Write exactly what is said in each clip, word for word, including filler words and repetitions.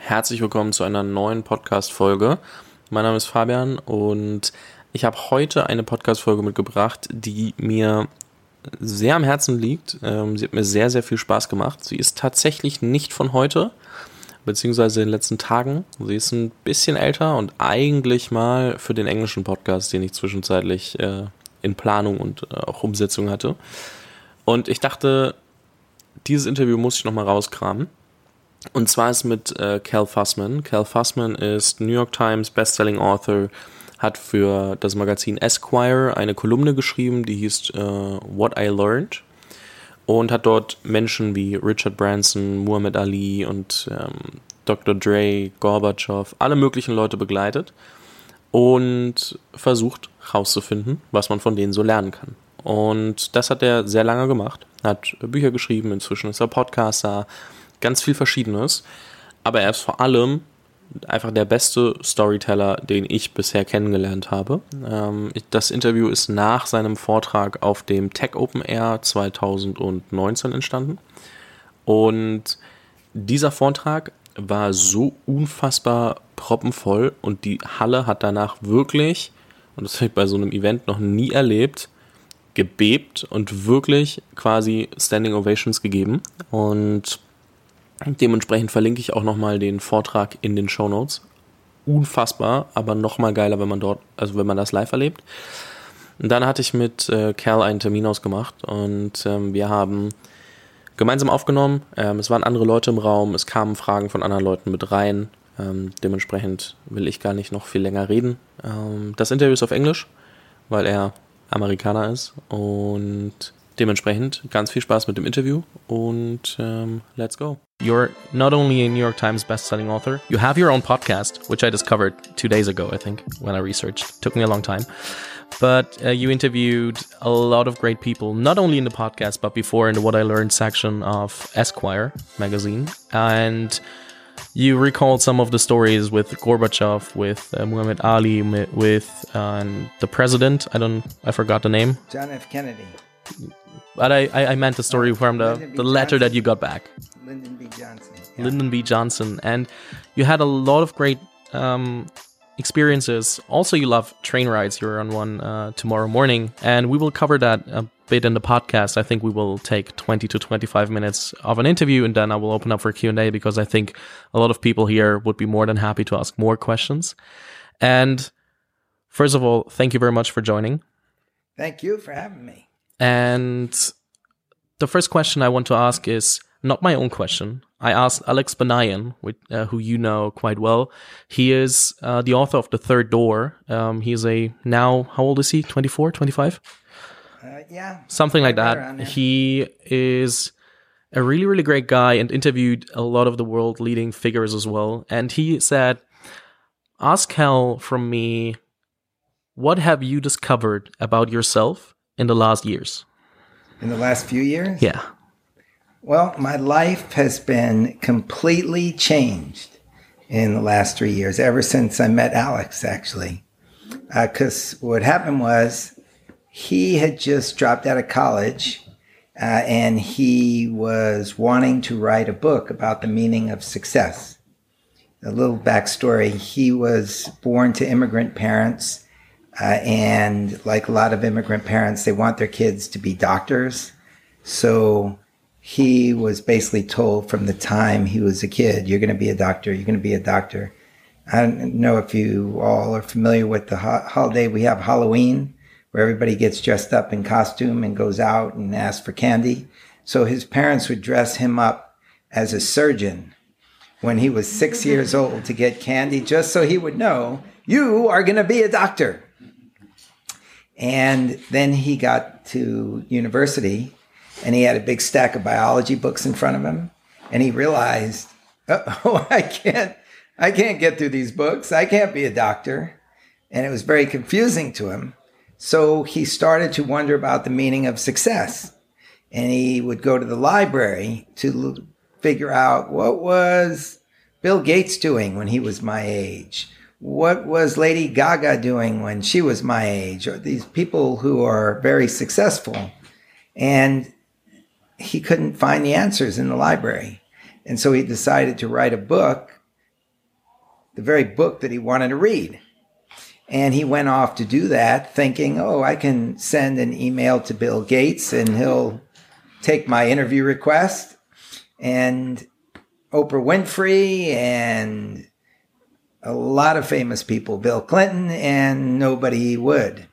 herzlich willkommen zu einer neuen Podcast-Folge. Mein Name ist Fabian und ich habe heute eine Podcast-Folge mitgebracht, die mir sehr am Herzen liegt. Ähm, sie hat mir sehr, sehr viel Spaß gemacht. Sie ist tatsächlich nicht von heute, beziehungsweise in den letzten Tagen. Sie ist ein bisschen älter und eigentlich mal für den englischen Podcast, den ich zwischenzeitlich äh, in Planung und äh, auch Umsetzung hatte. Und ich dachte, dieses Interview muss ich nochmal rauskramen. Und zwar ist mit äh, Cal Fussman. Cal Fussman ist New York Times Bestselling Author, hat für das Magazin Esquire eine Kolumne geschrieben, die hieß äh, What I Learned und hat dort Menschen wie Richard Branson, Muhammad Ali und ähm, Doktor Dre, Gorbatschow, alle möglichen Leute begleitet und versucht herauszufinden, was man von denen so lernen kann. Und das hat er sehr lange gemacht, hat Bücher geschrieben, inzwischen ist er Podcaster, ganz viel Verschiedenes, aber er ist vor allem einfach der beste Storyteller, den ich bisher kennengelernt habe. Ähm, das Interview ist nach seinem Vortrag auf dem Tech Open Air zwanzig neunzehn entstanden und dieser Vortrag war so unfassbar proppenvoll und die Halle hat danach wirklich, und das habe ich bei so einem Event noch nie erlebt, gebebt und wirklich quasi Standing Ovations gegeben und dementsprechend verlinke ich auch nochmal den Vortrag in den Shownotes. Unfassbar, aber nochmal geiler, wenn man dort, also wenn man das live erlebt. Und dann hatte ich mit äh, Cal einen Termin ausgemacht und ähm, wir haben gemeinsam aufgenommen. Ähm, es waren andere Leute im Raum, es kamen Fragen von anderen Leuten mit rein. Ähm, dementsprechend will ich gar nicht noch viel länger reden. Ähm, das Interview ist auf Englisch, weil er Amerikaner ist und dementsprechend ganz viel Spaß mit dem Interview und um, let's go. You're not only a New York Times bestselling author, you have your own podcast, which I discovered two days ago, I think, when I researched. It took me a long time. But uh, you interviewed a lot of great people, not only in the podcast, but before in the What I Learned section of Esquire magazine. And you recalled some of the stories with Gorbachev, with uh, Muhammad Ali, with uh, the president. I don't, I forgot the name. John F. Kennedy. But I, I meant the story from the, the letter that you got back. Lyndon B. Johnson. Yeah. Lyndon B. Johnson. And you had a lot of great um, experiences. Also, you love train rides. You're on one uh, tomorrow morning. And we will cover that a bit in the podcast. I think we will take twenty to twenty-five minutes of an interview. And then I will open up for Q and A because I think a lot of people here would be more than happy to ask more questions. And first of all, thank you very much for joining. Thank you for having me. And the first question I want to ask is not my own question. I asked Alex Banayan, with, uh, who you know quite well. He is uh, the author of The Third Door. Um, he is a now, how old is he? twenty-four, twenty-five? Uh, yeah. Something like that. He is a really, really great guy and interviewed a lot of the world leading figures as well. And he said, ask Cal from me, what have you discovered about yourself in the last years? In the last few years? Yeah. Well, my life has been completely changed in the last three years, ever since I met Alex, actually. Because uh, what happened was he had just dropped out of college uh, and he was wanting to write a book about the meaning of success. A little backstory, he was born to immigrant parents. Uh, and like a lot of immigrant parents, they want their kids to be doctors. So he was basically told from the time he was a kid, you're going to be a doctor, you're going to be a doctor. I don't know if you all are familiar with the ho- holiday. We have Halloween, where everybody gets dressed up in costume and goes out and asks for candy. So his parents would dress him up as a surgeon when he was six years old to get candy, just so he would know, you are going to be a doctor. And then he got to university and he had a big stack of biology books in front of him. And he realized, oh, I can't, I can't get through these books. I can't be a doctor. And it was very confusing to him. So he started to wonder about the meaning of success. And he would go to the library to figure out what was Bill Gates doing when he was my age. What was Lady Gaga doing when she was my age? Or these people who are very successful. And he couldn't find the answers in the library. And so he decided to write a book the very book that he wanted to read. And he went off to do that thinking, oh, I can send an email to Bill Gates and he'll take my interview request. And Oprah Winfrey and a lot of famous people, Bill Clinton, and nobody would.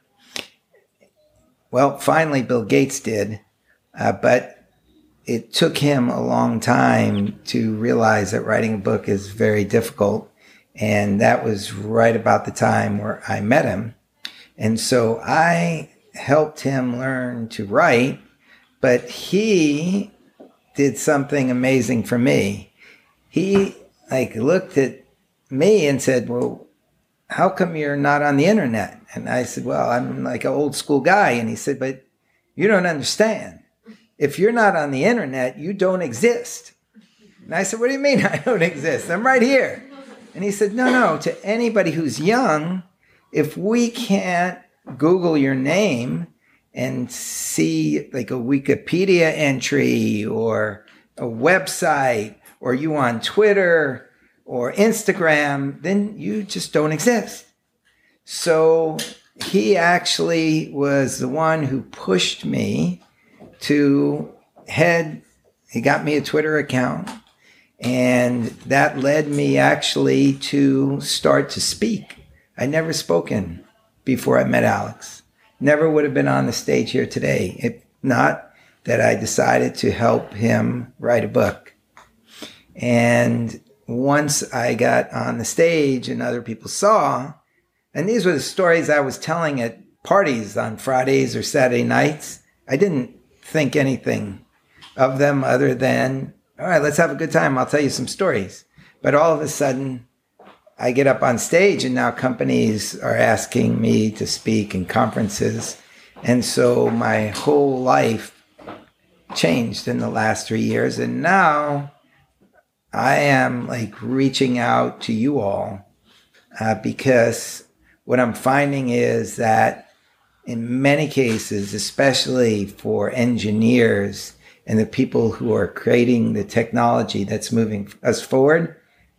Well, finally, Bill Gates did, uh, but it took him a long time to realize that writing a book is very difficult. And that was right about the time where I met him. And so I helped him learn to write, but he did something amazing for me. He like looked at me and said, well, how come you're not on the internet? And I said, well, I'm like an old school guy. And he said, but you don't understand. If you're not on the internet, you don't exist. And I said, what do you mean I don't exist? I'm right here. And he said, no, no, to anybody who's young, if we can't Google your name and see like a Wikipedia entry or a website or you on Twitter or Instagram, then you just don't exist. So he actually was the one who pushed me to head, he got me a Twitter account. And that led me actually to start to speak. I'd never spoken before I met Alex. Never would have been on the stage here today, if not that I decided to help him write a book. And once I got on the stage and other people saw, and these were the stories I was telling at parties on Fridays or Saturday nights, I didn't think anything of them other than, all right, let's have a good time. I'll tell you some stories. But all of a sudden, I get up on stage and now companies are asking me to speak in conferences. And so my whole life changed in the last three years. And now I am like reaching out to you all uh, because what I'm finding is that in many cases, especially for engineers, and the people who are creating the technology that's moving us forward,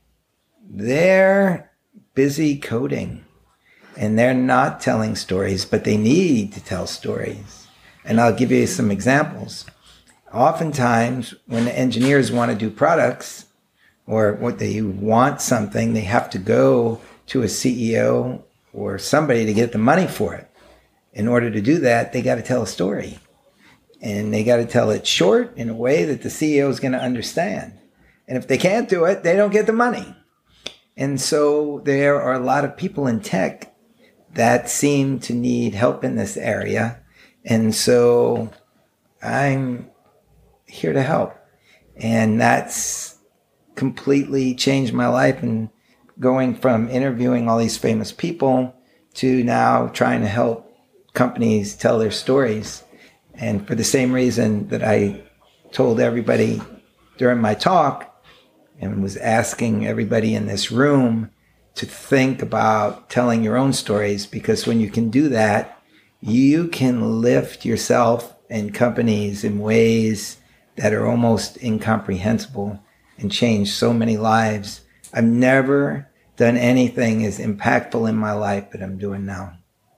they're busy coding and they're not telling stories, but they need to tell stories. And I'll give you some examples. Oftentimes, when engineers want to do products or what they want something, they have to go to a C E O or somebody to get the money for it. In order to do that, they got to tell a story. And they got to tell it short in a way that the C E O is going to understand. And if they can't do it, they don't get the money. And so there are a lot of people in tech that seem to need help in this area. And so I'm here to help. And that's completely changed my life. And going from interviewing all these famous people to now trying to help companies tell their stories. And for the same reason that I told everybody during my talk and was asking everybody in this room to think about telling your own stories, because when you can do that, you can lift yourself and companies in ways that are almost incomprehensible and change so many lives. I've never done anything as impactful in my life that I'm doing now.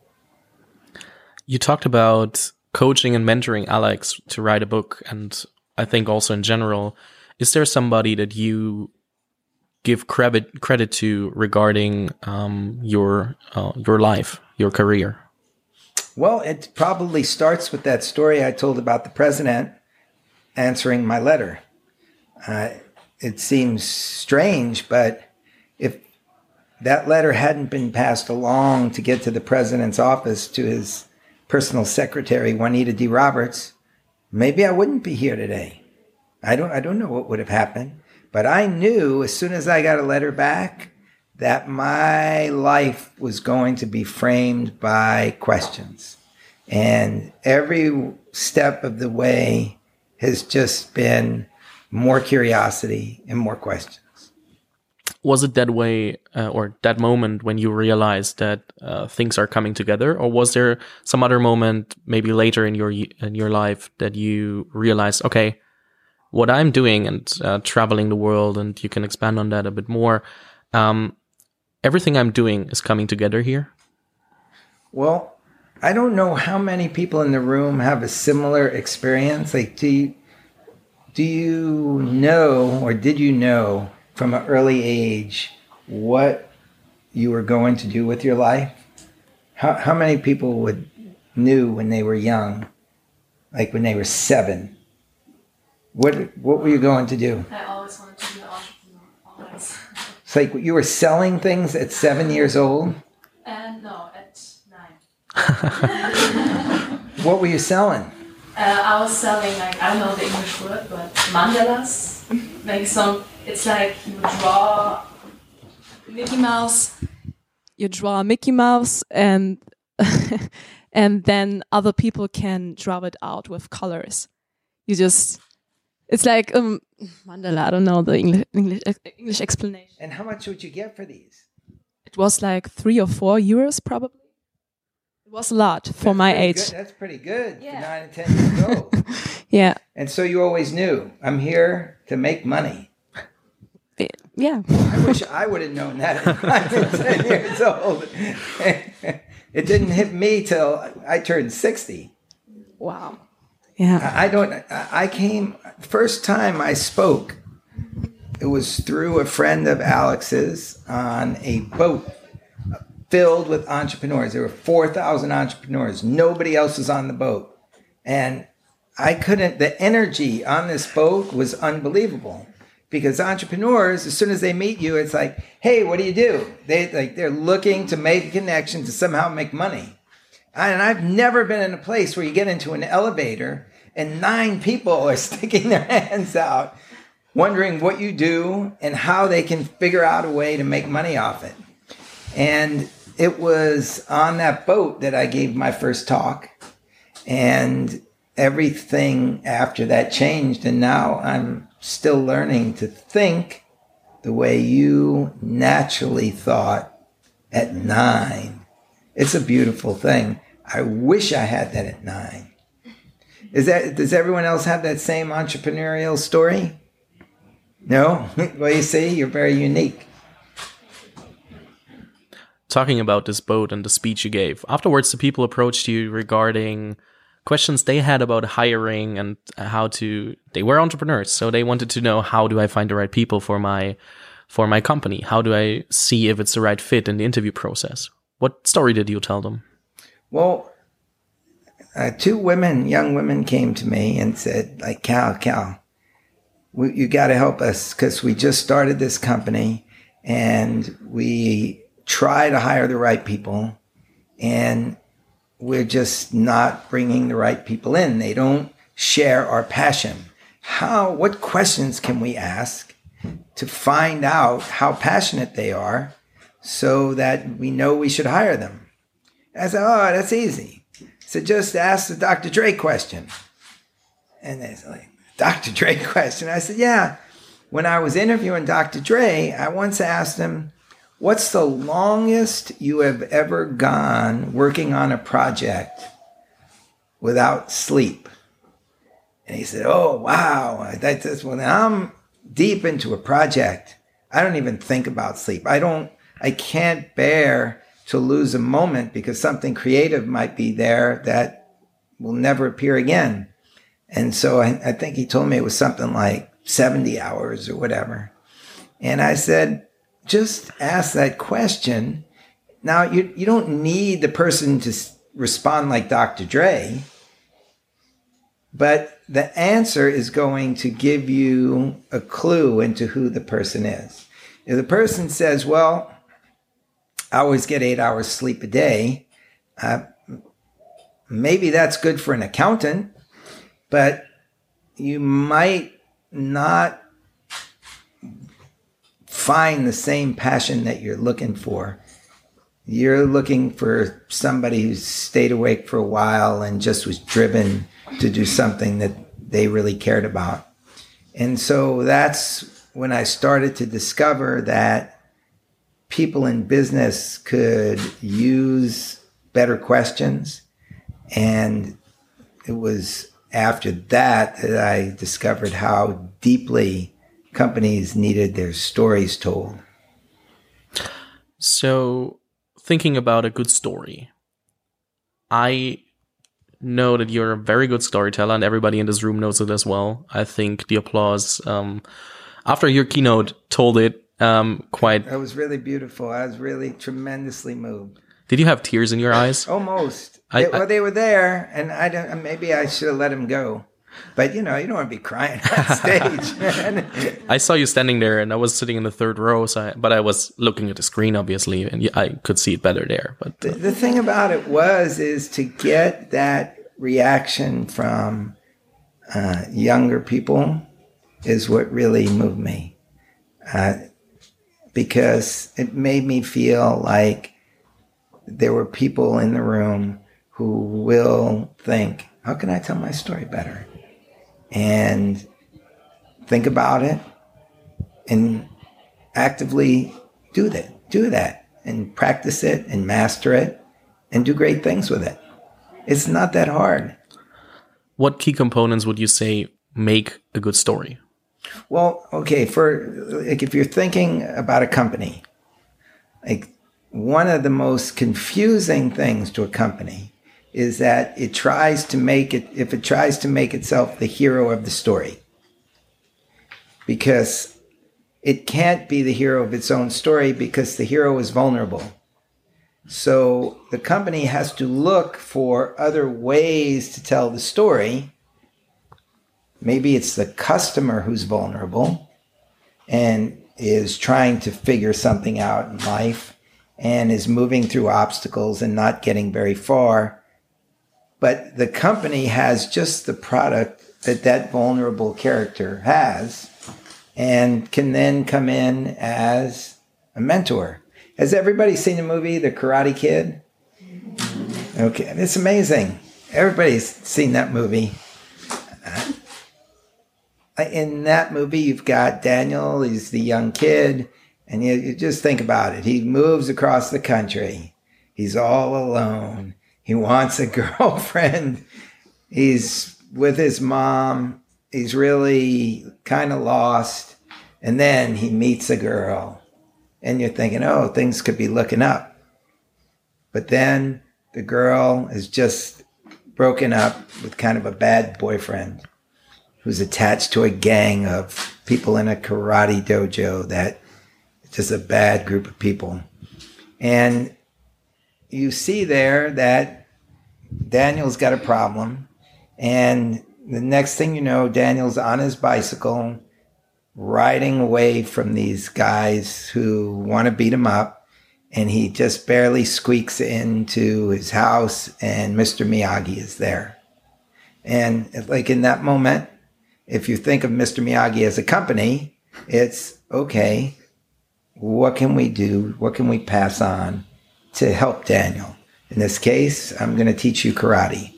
You talked about coaching and mentoring Alex to write a book, and I think also in general. Is there somebody that you give credit credit to regarding um, your uh, your life, your career? Well, it probably starts with that story I told about the president answering my letter. Uh, it seems strange, but if that letter hadn't been passed along to get to the president's office to his personal secretary, Juanita D. Roberts, maybe I wouldn't be here today. I don't I don't know what would have happened, but I knew as soon as I got a letter back that my life was going to be framed by questions. And every step of the way has just been more curiosity and more questions. Was it that way uh, or that moment when you realized that uh, things are coming together, or was there some other moment maybe later in your in your life that you realized, okay, what I'm doing and uh, traveling the world, and you can expand on that a bit more, um, everything I'm doing is coming together here? Well, I don't know how many people in the room have a similar experience. Like, do you, do you know, or did you know from an early age what you were going to do with your life? How how many people would knew when they were young, like when they were seven? What what were you going to do? I always wanted to be an entrepreneur. Always. It's like you were selling things at seven years old? And no, at nine. What were you selling? Uh, I was selling, like, I don't know the English word, but mandalas. Like some, it's like you draw Mickey Mouse. You draw Mickey Mouse, and and then other people can draw it out with colors. You just, it's like um, mandala. I don't know the English English English explanation. And how much would you get for these? It was like three or four euros, probably. It was a lot for That's my pretty age. good. That's pretty good Yeah. for nine and ten years old. Yeah. And so you always knew, I'm here to make money. Yeah. I wish I would have known that at nine and ten years old. It didn't hit me till I turned sixty. Wow. Yeah. I don't, I came, first time I spoke, it was through a friend of Alex's on a boat filled with entrepreneurs. There were four thousand entrepreneurs. Nobody else was on the boat. And I couldn't, the energy on this boat was unbelievable. Because entrepreneurs, as soon as they meet you, it's like, hey, what do you do? They, like, they're looking to make a connection to somehow make money. And I've never been in a place where you get into an elevator and nine people are sticking their hands out, wondering what you do and how they can figure out a way to make money off it. And it was on that boat that I gave my first talk. And everything after that changed. And now I'm still learning to think the way you naturally thought at nine. It's a beautiful thing. I wish I had that at nine. Is that, does everyone else have that same entrepreneurial story? No? Well, you see, you're very unique. Talking about this boat and the speech you gave, afterwards the people approached you regarding questions they had about hiring and how to, they were entrepreneurs, so they wanted to know, how do I find the right people for my for my company? How do I see if it's the right fit in the interview process? What story did you tell them? Well, uh, two women, young women came to me and said, like, Cal, Cal, we, you got to help us because we just started this company and we try to hire the right people and we're just not bringing the right people in. They don't share our passion. How, what questions can we ask to find out how passionate they are so that we know we should hire them? I said, oh, that's easy. So just ask the Doctor Dre question. And they said, like, Doctor Dre question? I said, yeah. When I was interviewing Doctor Dre, I once asked him, what's the longest you have ever gone working on a project without sleep? And he said, oh, wow. That's, when I'm deep into a project, I don't even think about sleep. I don't, I can't bear to lose a moment because something creative might be there that will never appear again. And so I, I think he told me it was something like seventy hours or whatever. And I said, just ask that question. Now, you you don't need the person to respond like Doctor Dre, but the answer is going to give you a clue into who the person is. If the person says, well, I always get eight hours sleep a day, uh, maybe that's good for an accountant, but you might not find the same passion that you're looking for. You're looking for somebody who's stayed awake for a while and just was driven to do something that they really cared about. And so that's when I started to discover that people in business could use better questions. And it was after that that I discovered how deeply companies needed their stories told. So, thinking about a good story, I know that you're a very good storyteller, and everybody in this room knows it as well. I think the applause um, after your keynote told it um, quite. That was really beautiful. I was really tremendously moved. Did you have tears in your eyes? Almost. I, they, well, I, they were there, and I don't. Maybe I should have let them go. But, you know, you don't want to be crying on stage. I saw you standing there, and I was sitting in the third row, so I, but I was looking at the screen, obviously, and I could see it better there. But uh. the, the thing about it was, is to get that reaction from uh, younger people is what really moved me. Uh, because it made me feel like there were people in the room who will think, how can I tell my story better? And think about it and actively do that, do that and practice it and master it and do great things with it. It's not that hard. What key components would you say make a good story? Well, okay, for like if you're thinking about a company, like one of the most confusing things to a company is that it tries to make it, if it tries to make itself the hero of the story, because it can't be the hero of its own story because the hero is vulnerable. So the company has to look for other ways to tell the story. Maybe it's the customer who's vulnerable and is trying to figure something out in life and is moving through obstacles and not getting very far. But the company has just the product that that vulnerable character has and can then come in as a mentor. Has everybody seen the movie The Karate Kid? Okay, it's amazing. Everybody's seen that movie. In that movie, you've got Daniel, he's the young kid, and you, you just think about it. He moves across the country. He's all alone. He wants a girlfriend. He's with his mom. He's really kind of lost. And then he meets a girl. And you're thinking, oh, things could be looking up. But then the girl is just broken up with kind of a bad boyfriend who's attached to a gang of people in a karate dojo that it's just a bad group of people. And you see there that Daniel's got a problem. And the next thing you know, Daniel's on his bicycle riding away from these guys who want to beat him up. And he just barely squeaks into his house and Mister Miyagi is there. And like in that moment, if you think of Mister Miyagi as a company, it's okay, what can we do? What can we pass on to help Daniel? In this case, I'm going to teach you karate.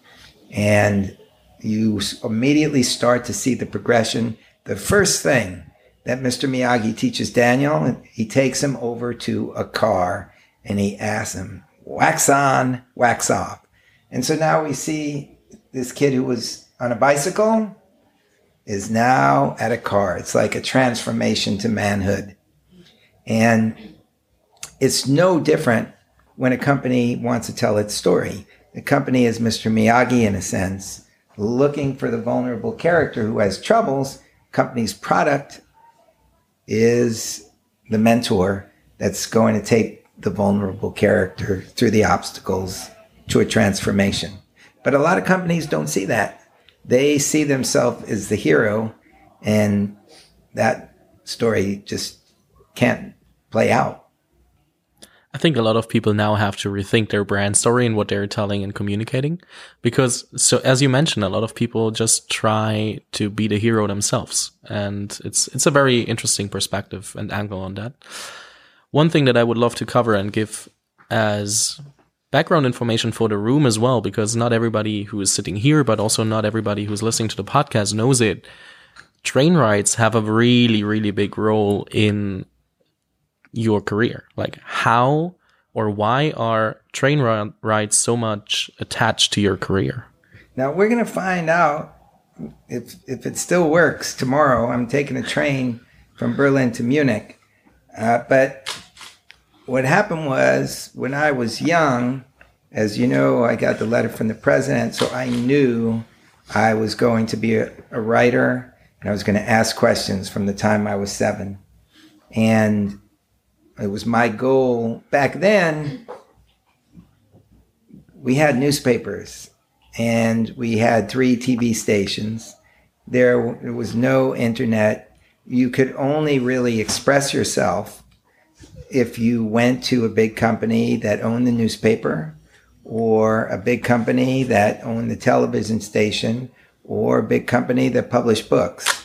And you immediately start to see the progression. The first thing that Mister Miyagi teaches Daniel, he takes him over to a car and he asks him, wax on, wax off. And so now we see this kid who was on a bicycle is now at a car. It's like a transformation to manhood. And it's no different when a company wants to tell its story. The company is Mister Miyagi in a sense, looking for the vulnerable character who has troubles. Company's product is the mentor that's going to take the vulnerable character through the obstacles to a transformation. But a lot of companies don't see that. They see themselves as the hero, and that story just can't play out. I think a lot of people now have to rethink their brand story and what they're telling and communicating. Because, so as you mentioned, a lot of people just try to be the hero themselves. And it's it's a very interesting perspective and angle on that. One thing that I would love to cover and give as background information for the room as well, because not everybody who is sitting here, but also not everybody who's listening to the podcast knows it. Train rides have a really, really big role in your career. Like, how or why are train rides so much attached to your career? Now we're going to find out if if it still works tomorrow. I'm taking a train from Berlin to Munich, uh, but what happened was when I was young, as you know, I got the letter from the president, so I knew I was going to be a, a writer, and I was going to ask questions from the time I was seven. And it was my goal. Back then, we had newspapers, and we had three T V stations. There, there was no internet. You could only really express yourself if you went to a big company that owned the newspaper, or a big company that owned the television station, or a big company that published books.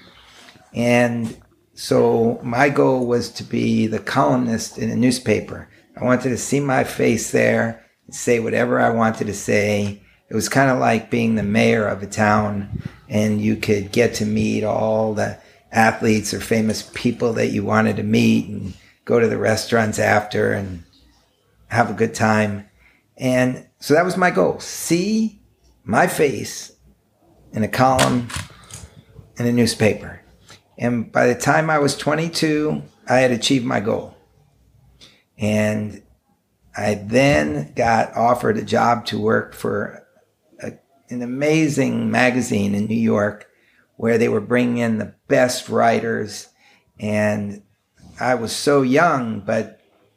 And so my goal was to be the columnist in a newspaper. I wanted to see my face there and say whatever I wanted to say. It was kind of like being the mayor of a town, and you could get to meet all the athletes or famous people that you wanted to meet and go to the restaurants after and have a good time. And so that was my goal. See my face in a column in a newspaper. And by the time I was twenty-two, I had achieved my goal. And I then got offered a job to work for a, an amazing magazine in New York where they were bringing in the best writers. And I was so young, but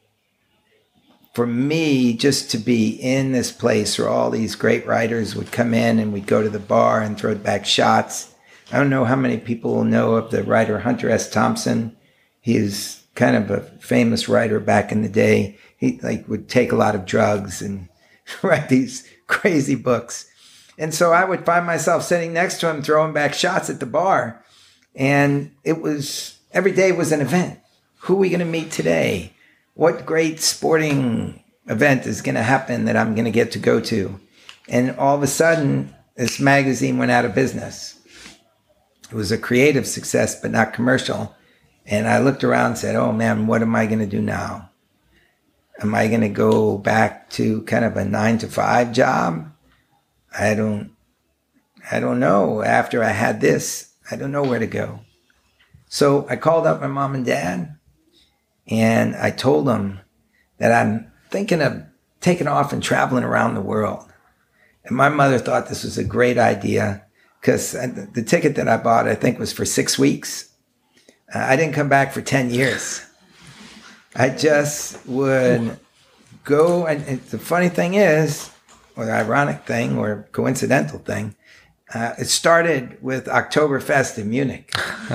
for me, just to be in this place where all these great writers would come in and we'd go to the bar and throw back shots. I don't know how many people know of the writer Hunter S. Thompson. He is kind of a famous writer back in the day. He like would take a lot of drugs and write these crazy books. And so I would find myself sitting next to him, throwing back shots at the bar. And it was, every day was an event. Who are we going to meet today? What great sporting event is going to happen that I'm going to get to go to? And all of a sudden, this magazine went out of business. It was a creative success, but not commercial. And I looked around and said, oh man, what am I going to do now? Am I going to go back to kind of a nine to five job? I don't, I don't know. After I had this, I don't know where to go. So I called up my mom and dad, and I told them that I'm thinking of taking off and traveling around the world. And my mother thought this was a great idea because the ticket that I bought, I think, was for six weeks. Uh, I didn't come back for ten years. I just would go, and, and the funny thing is, or the ironic thing, or coincidental thing, uh, it started with Oktoberfest in Munich.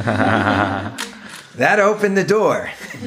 That opened the door.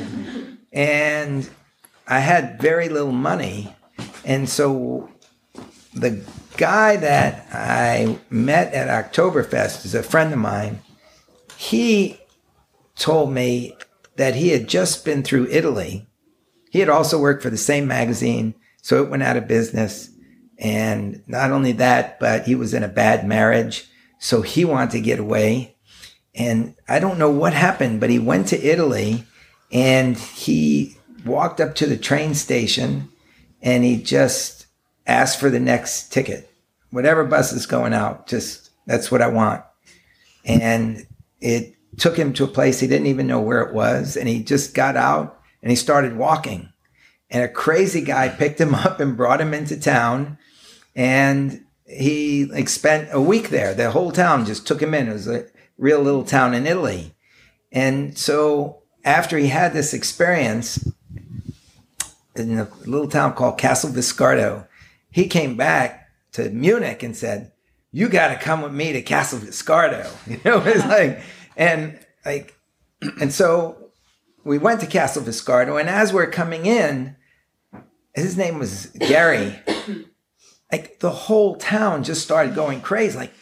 And I had very little money. And so the guy that I met at Oktoberfest is a friend of mine. He told me that he had just been through Italy. He had also worked for the same magazine, so it went out of business. And not only that, but he was in a bad marriage, so he wanted to get away. And I don't know what happened, but he went to Italy and he walked up to the train station and he just asked for the next ticket. Whatever bus is going out, just, that's what I want. And it took him to a place he didn't even know where it was. And he just got out and he started walking. And a crazy guy picked him up and brought him into town. And he like spent a week there. The whole town just took him in. It was a real little town in Italy. And so after he had this experience in a little town called Castel Viscardo, he came back to Munich and said, you got to come with me to Castel Viscardo. You know, it's like, and like, and so we went to Castel Viscardo, and as we're coming in, his name was Gary. Like the whole town just started going crazy, like,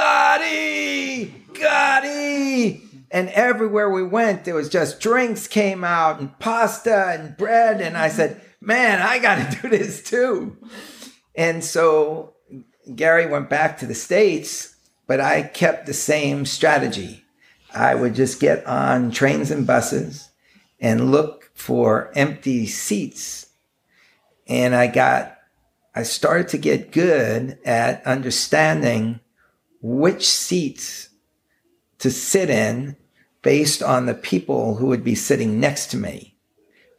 Gotti, Gotti. And everywhere we went, there was just drinks came out and pasta and bread. And I said, man, I got to do this too. And so Gary went back to the States, but I kept the same strategy. I would just get on trains and buses and look for empty seats. And I got, I started to get good at understanding which seats to sit in based on the people who would be sitting next to me.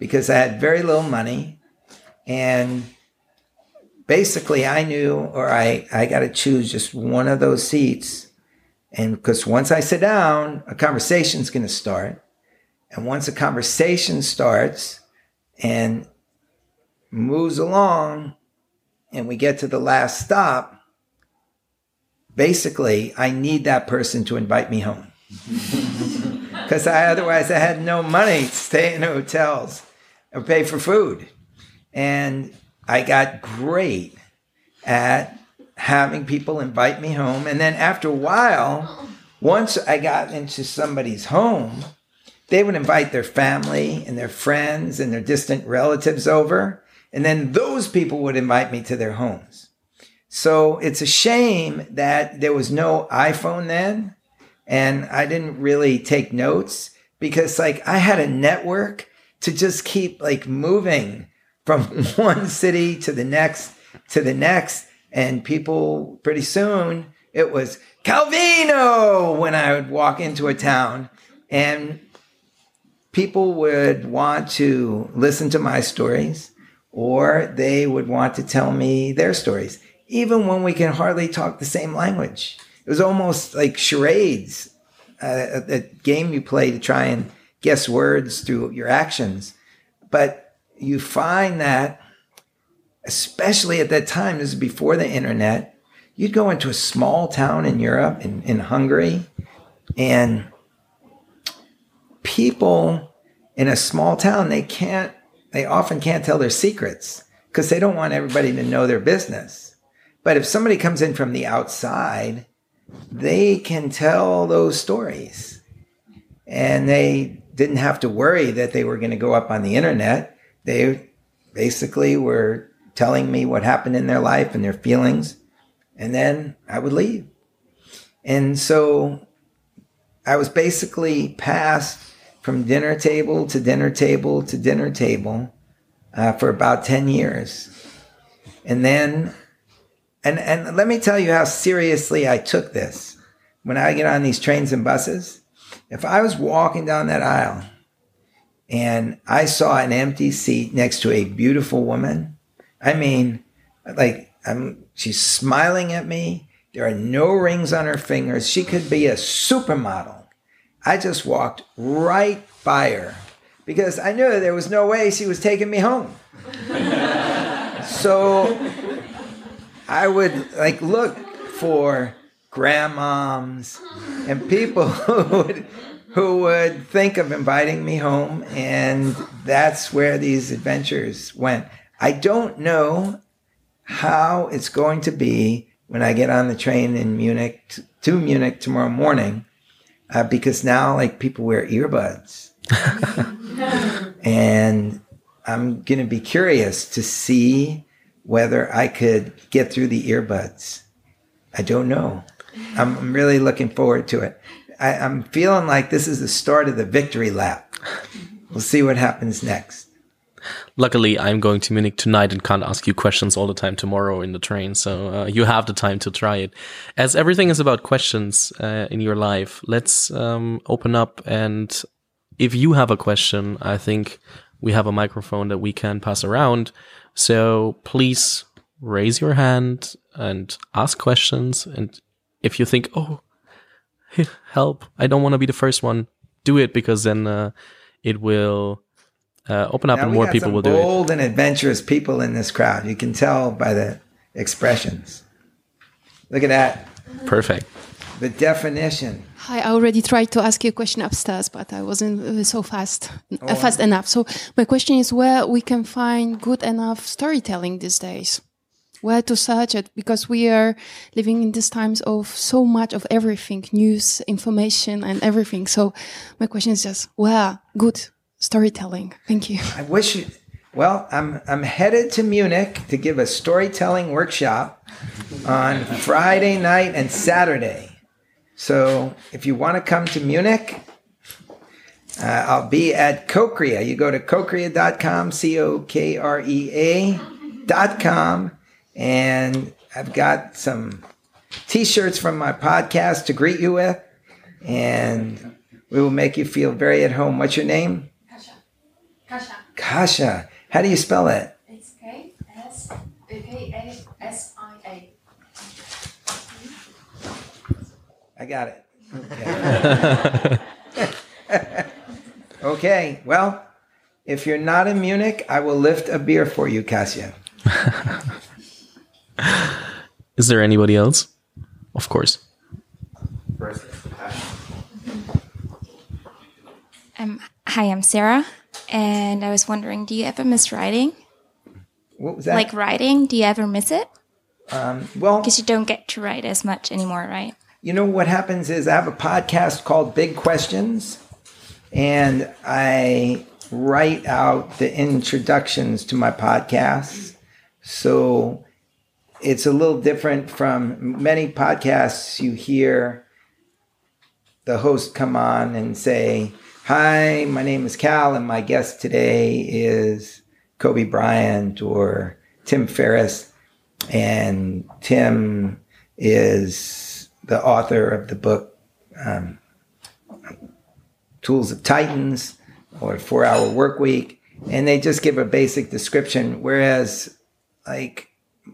because I had very little money. And basically I knew, or I, I got to choose just one of those seats. And because once I sit down, a conversation's going to start. And once a conversation starts and moves along and we get to the last stop, basically I need that person to invite me home. Because I, otherwise I had no money to stay in hotels or pay for food. And I got great at having people invite me home. And then after a while, once I got into somebody's home, they would invite their family and their friends and their distant relatives over. And then those people would invite me to their homes. So it's a shame that there was no iPhone then. And I didn't really take notes because like I had a network to just keep like moving from one city to the next, to the next. And people, pretty soon, it was Calvino when I would walk into a town. And people would want to listen to my stories, or they would want to tell me their stories, even when we can hardly talk the same language. It was almost like charades, uh, a, a game you play to try and guess words through your actions. But you find that, especially at that time, this is before the internet, you'd go into a small town in Europe, in, in Hungary, and people in a small town, they can't, they often can't tell their secrets because they don't want everybody to know their business. But if somebody comes in from the outside, they can tell those stories. And they didn't have to worry that they were going to go up on the internet. They basically were telling me what happened in their life and their feelings, and then I would leave. And so I was basically passed from dinner table to dinner table to dinner table uh, for about ten years. And then, and, and let me tell you how seriously I took this. When I get on these trains and buses, if I was walking down that aisle and I saw an empty seat next to a beautiful woman, I mean, like, I'm, she's smiling at me. There are no rings on her fingers. She could be a supermodel. I just walked right by her because I knew there was no way she was taking me home. So I would like look for grandmoms and people who would, who would think of inviting me home. And that's where these adventures went. I don't know how it's going to be when I get on the train in Munich t- to Munich tomorrow morning, uh, because now like people wear earbuds. And I'm going to be curious to see whether I could get through the earbuds. I don't know. I'm, I'm really looking forward to it. I, I'm feeling like this is the start of the victory lap. We'll see what happens next. Luckily, I'm going to Munich tonight and can't ask you questions all the time tomorrow in the train. So uh, you have the time to try it. As everything is about questions uh, in your life, let's um, open up. And if you have a question, I think we have a microphone that we can pass around. So please raise your hand and ask questions. And if you think, oh, help, I don't want to be the first one, do it, because then uh, it will... Uh, open up now and more people will do it. Bold and adventurous people in this crowd. You can tell by the expressions. Look at that. Perfect. The definition. Hi, I already tried to ask you a question upstairs, but I wasn't uh, so fast, oh. uh, fast enough. So my question is where we can find good enough storytelling these days. Where to search it? Because we are living in these times of so much of everything, news, information, and everything. So my question is just where good storytelling. Thank you. I wish you, well, I'm I'm headed to Munich to give a storytelling workshop on Friday night and Saturday. So if you want to come to Munich, uh, I'll be at Cocrea. You go to cocrea dot com, C O K R E A dot com, and I've got some T-shirts from my podcast to greet you with, and we will make you feel very at home. What's your name? Kasia. Kasia. How do you spell it? It's K S K A S I A. I got it. Okay. Okay. Well, if you're not in Munich, I will lift a beer for you, Kasia. Is there anybody else? Of course. Um, hi, I'm Sarah, and I was wondering, do you ever miss writing? What was that? Like writing, do you ever miss it? Um, well, Because you don't get to write as much anymore, right? you know what happens is I have a podcast called Big Questions, and I write out the introductions to my podcasts. So it's a little different from many podcasts. You hear the host come on and say, "Hi, my name is Cal, and my guest today is Kobe Bryant or Tim Ferriss." And Tim is the author of the book um, Tools of Titans or Four Hour Work Week. And they just give a basic description. Whereas like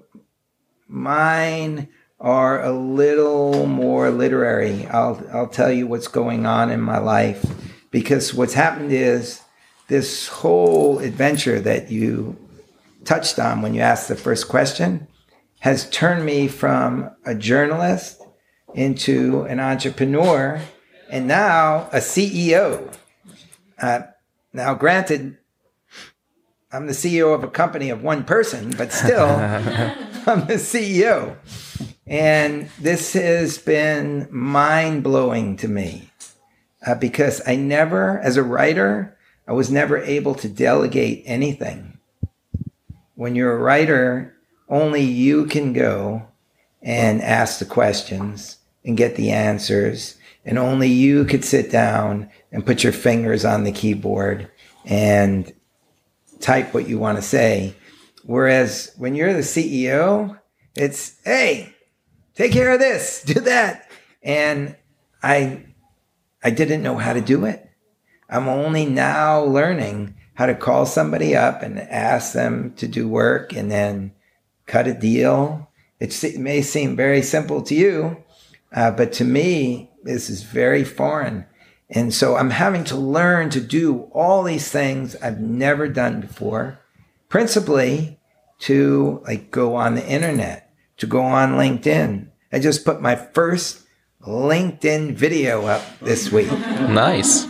mine are a little more literary. I'll, I'll tell you what's going on in my life, because what's happened is this whole adventure that you touched on when you asked the first question has turned me from a journalist into an entrepreneur and now a C E O. Uh, now, granted, I'm the C E O of a company of one person, but still, I'm the C E O. And this has been mind-blowing to me uh, because I never, as a writer, I was never able to delegate anything. When you're a writer, only you can go and ask the questions and get the answers. And only you could sit down and put your fingers on the keyboard and type what you want to say. Whereas when you're the C E O, it's, hey, take care of this, do that. And I, I didn't know how to do it. I'm only now learning how to call somebody up and ask them to do work and then cut a deal. It, it may seem very simple to you, uh, but to me, this is very foreign. And so I'm having to learn to do all these things I've never done before, principally to like go on the internet, to go on LinkedIn. I just put my first LinkedIn video up this week. Nice.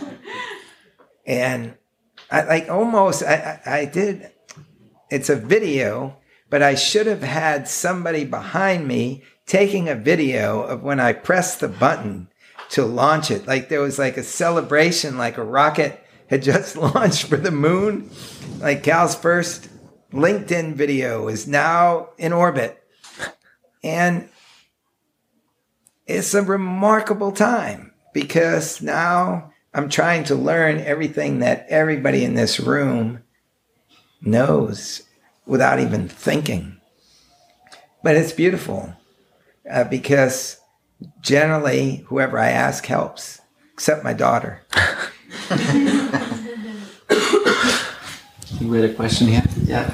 And I like almost, I, I, I did, it's a video, but I should have had somebody behind me taking a video of when I pressed the button to launch it. Like there was like a celebration, like a rocket had just launched for the moon. Like Cal's first LinkedIn video is now in orbit. And it's a remarkable time because now I'm trying to learn everything that everybody in this room knows without even thinking. But it's beautiful uh, because generally whoever I ask helps, except my daughter. You had a question here? Yeah.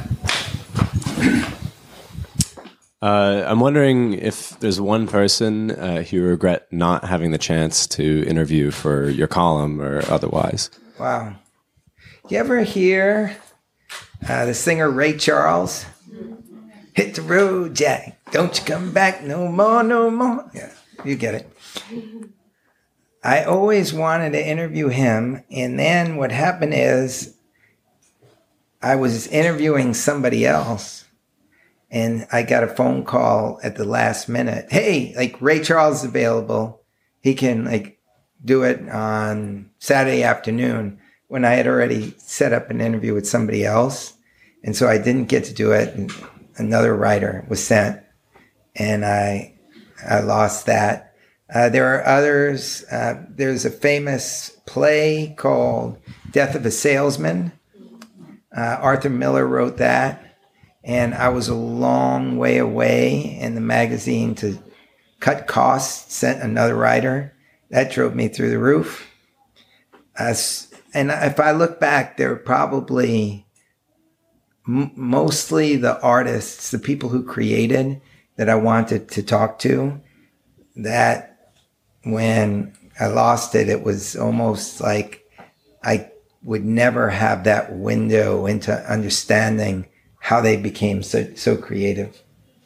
Uh, I'm wondering if there's one person uh, who you regret not having the chance to interview for your column or otherwise. Wow. You ever hear uh, the singer Ray Charles? Hit the road, Jack. Don't you come back no more, no more. Yeah, you get it. I always wanted to interview him. And then what happened is I was interviewing somebody else. And I got a phone call at the last minute. Hey, like Ray Charles is available. He can like do it on Saturday afternoon, when I had already set up an interview with somebody else. And so I didn't get to do it. And another writer was sent and I, I lost that. Uh, there are others. Uh, there's a famous play called Death of a Salesman. Uh, Arthur Miller wrote that. And I was a long way away, and the magazine, to cut costs, sent another writer. That drove me through the roof. Uh, and if I look back, there were probably m- mostly the artists, the people who created that I wanted to talk to, that when I lost it, it was almost like I would never have that window into understanding how they became so, so creative.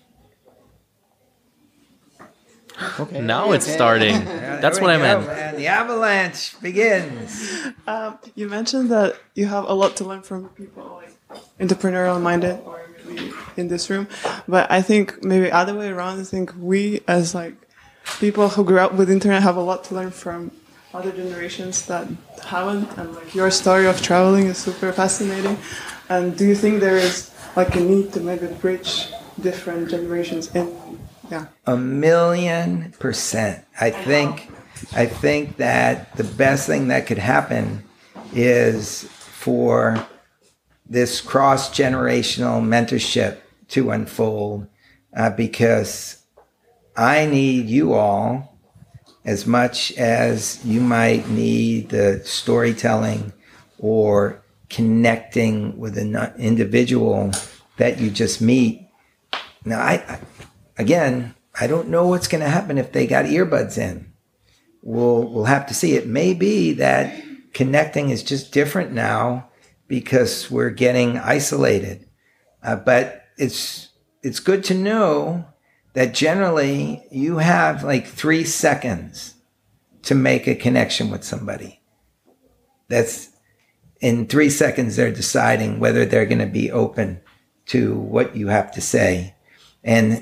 Okay. Now it's starting. Yeah, That's there what we I go, meant. man. The avalanche begins. Um, you mentioned that you have a lot to learn from people like entrepreneurial minded or maybe in this room, but I think maybe other way around. I think we as like people who grew up with internet have a lot to learn from other generations that haven't, and like your story of traveling is super fascinating. And do you think there is like a need to maybe bridge different generations in? Yeah. A million percent. I think I think that the best thing that could happen is for this cross-generational mentorship to unfold, uh, because I need you all as much as you might need the storytelling or connecting with an individual that you just meet. Now, I, I again, I don't know what's going to happen if they got earbuds in. We'll we'll have to see. It may be that connecting is just different now because we're getting isolated. Uh, but it's it's good to know that generally you have like three seconds to make a connection with somebody. That's in three seconds they're deciding whether they're going to be open to what you have to say. And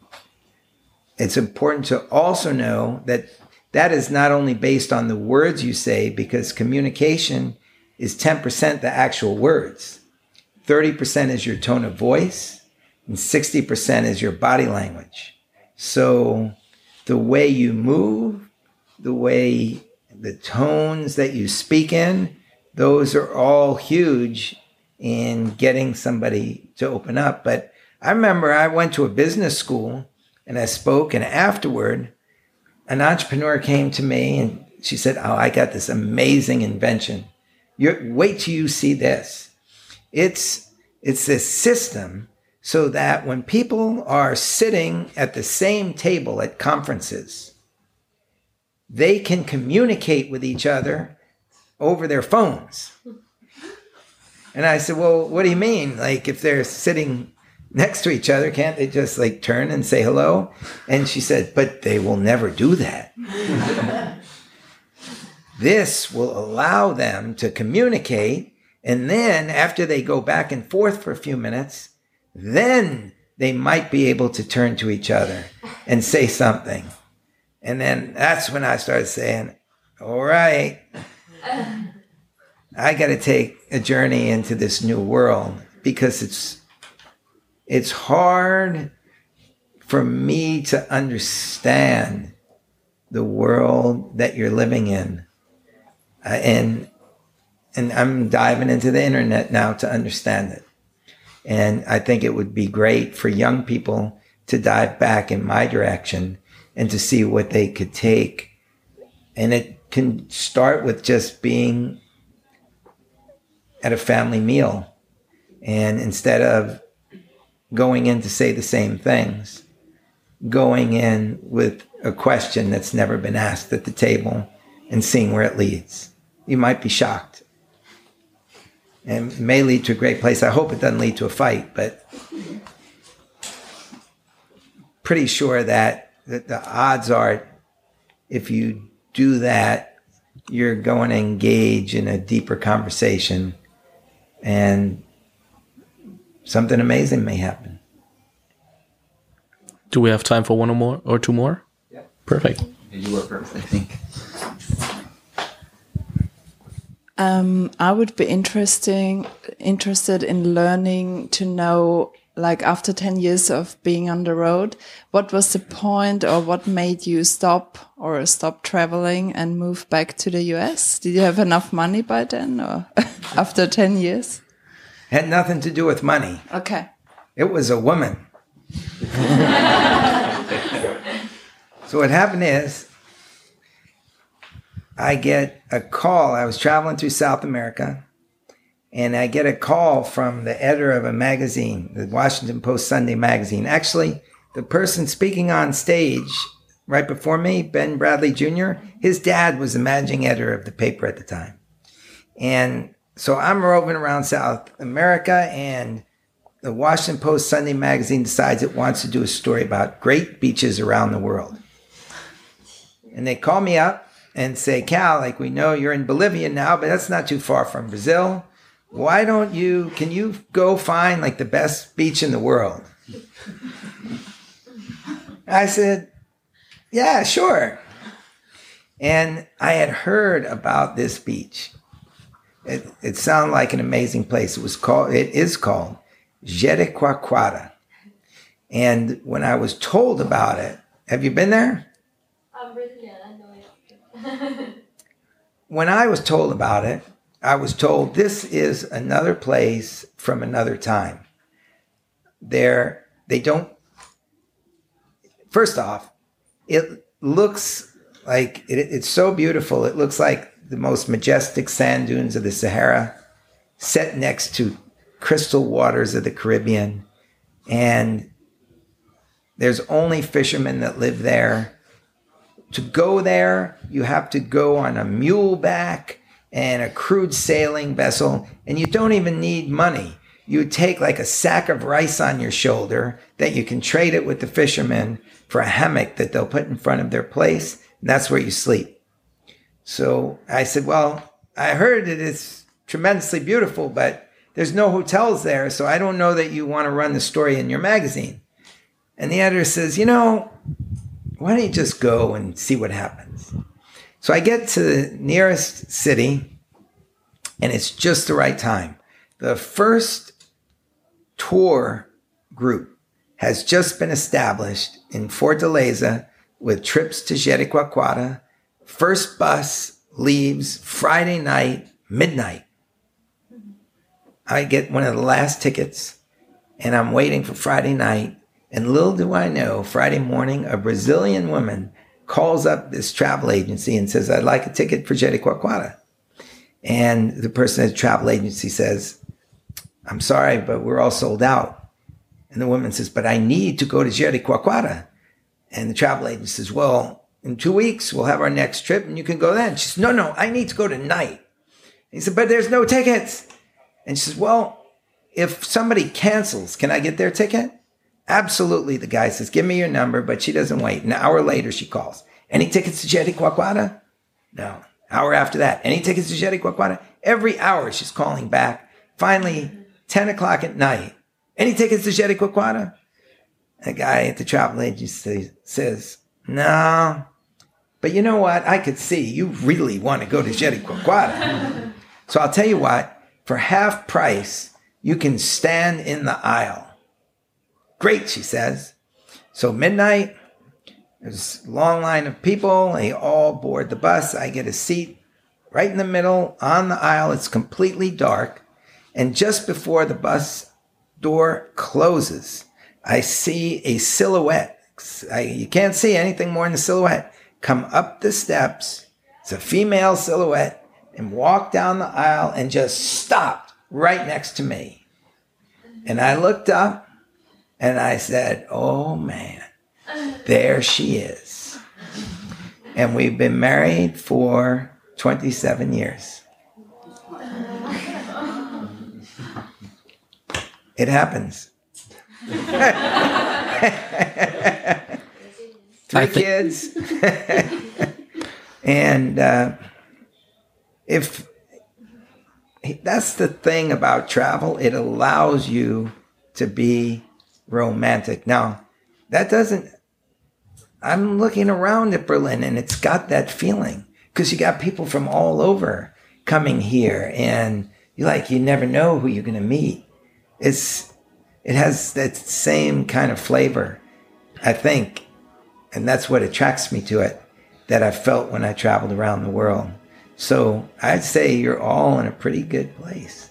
it's important to also know that that is not only based on the words you say, because communication is ten percent the actual words. thirty percent is your tone of voice, and sixty percent is your body language. So the way you move, the way, the tones that you speak in, those are all huge in getting somebody to open up. But I remember I went to a business school and I spoke, and afterward, an entrepreneur came to me and she said, "Oh, I got this amazing invention. You're, wait till you see this. It's, it's this system so that when people are sitting at the same table at conferences, they can communicate with each other over their phones." And I said, "Well, what do you mean? Like if they're sitting next to each other, can't they just like turn and say hello?" And she said, "But they will never do that." This will allow them to communicate. And then after they go back and forth for a few minutes, then they might be able to turn to each other and say something. And then that's when I started saying, all right, I got to take a journey into this new world, because it's it's hard for me to understand the world that you're living in. Uh, and and I'm diving into the internet now to understand it. And I think it would be great for young people to dive back in my direction and to see what they could take. And it can start with just being at a family meal. And instead of going in to say the same things, going in with a question that's never been asked at the table and seeing where it leads. You might be shocked. And it may lead to a great place. I hope it doesn't lead to a fight, but pretty sure that, that the odds are, if you do that, you're going to engage in a deeper conversation and something amazing may happen. Do we have time for one or more or two more? Yeah. Perfect. You were perfect, I think. Um, I would be interesting, interested in learning to know, like after ten years of being on the road, what was the point or what made you stop or stop traveling and move back to the U S? Did you have enough money by then or after ten years? Had nothing to do with money. Okay. It was a woman. So what happened is, I get a call. I was traveling through South America, and I get a call from the editor of a magazine, the Washington Post Sunday magazine. Actually, the person speaking on stage right before me, Ben Bradley Junior, his dad was the managing editor of the paper at the time. And so I'm roving around South America, and the Washington Post Sunday magazine decides it wants to do a story about great beaches around the world. And they call me up and say, Cal, like, we know you're in Bolivia now, but that's not too far from Brazil. Why don't you, can you go find like the best beach in the world? I said, yeah, sure. And I had heard about this beach. It, it sounded like an amazing place. It was called, it is called Jericoacoara. And when I was told about it, have you been there? I'm Brazilian, I know it. When I was told about it, I was told this is another place from another time. There, they don't, first off, it looks like, it, it's so beautiful. It looks like the most majestic sand dunes of the Sahara set next to crystal waters of the Caribbean. And there's only fishermen that live there. To go there, you have to go on a mule back and a crude sailing vessel, and you don't even need money. You take like a sack of rice on your shoulder that you can trade it with the fishermen for a hammock that they'll put in front of their place, and that's where you sleep. So I said, well, I heard it is tremendously beautiful, but there's no hotels there, so I don't know that you want to run the story in your magazine. And the editor says, you know, why don't you just go and see what happens? So I get to the nearest city, and it's just the right time. The first tour group has just been established in Fortaleza with trips to Jericoacoara. First bus leaves Friday night, midnight. I get one of the last tickets, and I'm waiting for Friday night. And little do I know, Friday morning, a Brazilian woman calls up this travel agency and says, I'd like a ticket for Jericoacoara. And the person at the travel agency says, I'm sorry, but we're all sold out. And the woman says, but I need to go to Jericoacoara. And the travel agent says, well, in two weeks, we'll have our next trip and you can go then. She says, no, no, I need to go tonight. And he said, but there's no tickets. And she says, well, if somebody cancels, can I get their ticket? Absolutely, the guy says, give me your number, but she doesn't wait. An hour later, she calls. Any tickets to Jericoacoara? No. Hour after that, any tickets to Jericoacoara? Every hour, she's calling back. Finally, ten o'clock at night, any tickets to Jericoacoara? The guy at the travel agency says, no. But you know what? I could see you really want to go to Jericoacoara. So I'll tell you what, for half price, you can stand in the aisle. Great, she says. So midnight, there's a long line of people. They all board the bus. I get a seat right in the middle on the aisle. It's completely dark. And just before the bus door closes, I see a silhouette. I, you can't see anything more than a silhouette. Come up the steps. It's a female silhouette and walk down the aisle and just stopped right next to me. And I looked up. And I said, oh, man, there she is. And we've been married for twenty-seven years. It happens. Three kids. And uh, if that's the thing about travel, it allows you to be romantic. Now, that doesn't, I'm looking around at Berlin and it's got that feeling because you got people from all over coming here and you like, you never know who you're going to meet. It's, it has that same kind of flavor, I think. And that's what attracts me to it that I felt when I traveled around the world. So I'd say you're all in a pretty good place.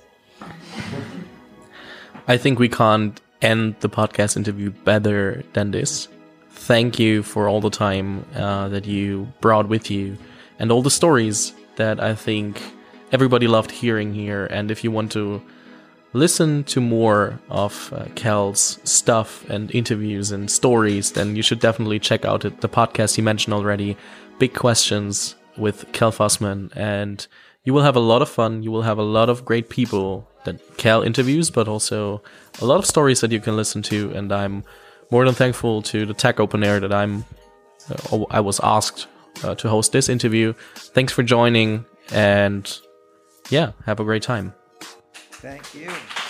I think we can't end the podcast interview better than this. Thank you for all the time uh, that you brought with you and all the stories that I think everybody loved hearing here. And if you want to listen to more of uh, Cal's stuff and interviews and stories, then you should definitely check out it, the podcast he mentioned already, Big Questions with Cal Fussman. And you will have a lot of fun. You will have a lot of great people that Cal interviews, but also a lot of stories that you can listen to. And I'm more than thankful to the Tech Open Air that I'm uh, I was asked uh, to host this interview. Thanks for joining, and yeah, have a great time. Thank you.